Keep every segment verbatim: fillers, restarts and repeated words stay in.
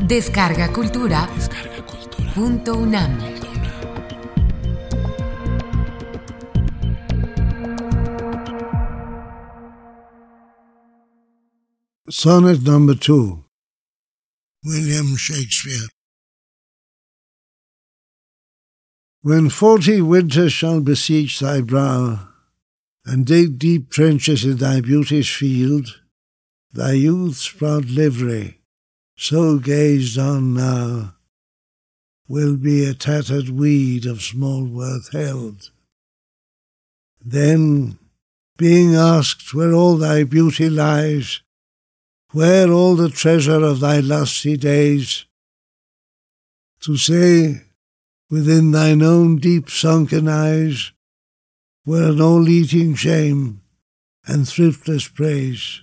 Descarga Cultura. Descarga Cultura. Punto UNAM. Sonnet number two. William Shakespeare. When forty winters shall besiege thy brow, and dig deep trenches in thy beauty's field, thy youth's proud livery, so gazed on now, will be a tattered weed of small worth held. Then, being asked where all thy beauty lies, where all the treasure of thy lusty days, to say, within thine own deep sunken eyes, were an all-eating shame and thriftless praise.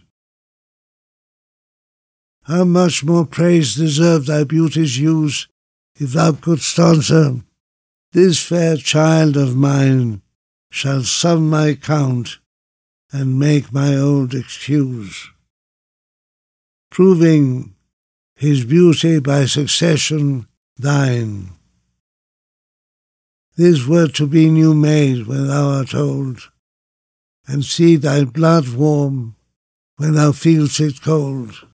How much more praise deserved thy beauty's use, if thou couldst answer, this fair child of mine shall sum my count and make my old excuse, proving his beauty by succession thine. This were to be new made when thou art old, and see thy blood warm when thou feel'st it cold.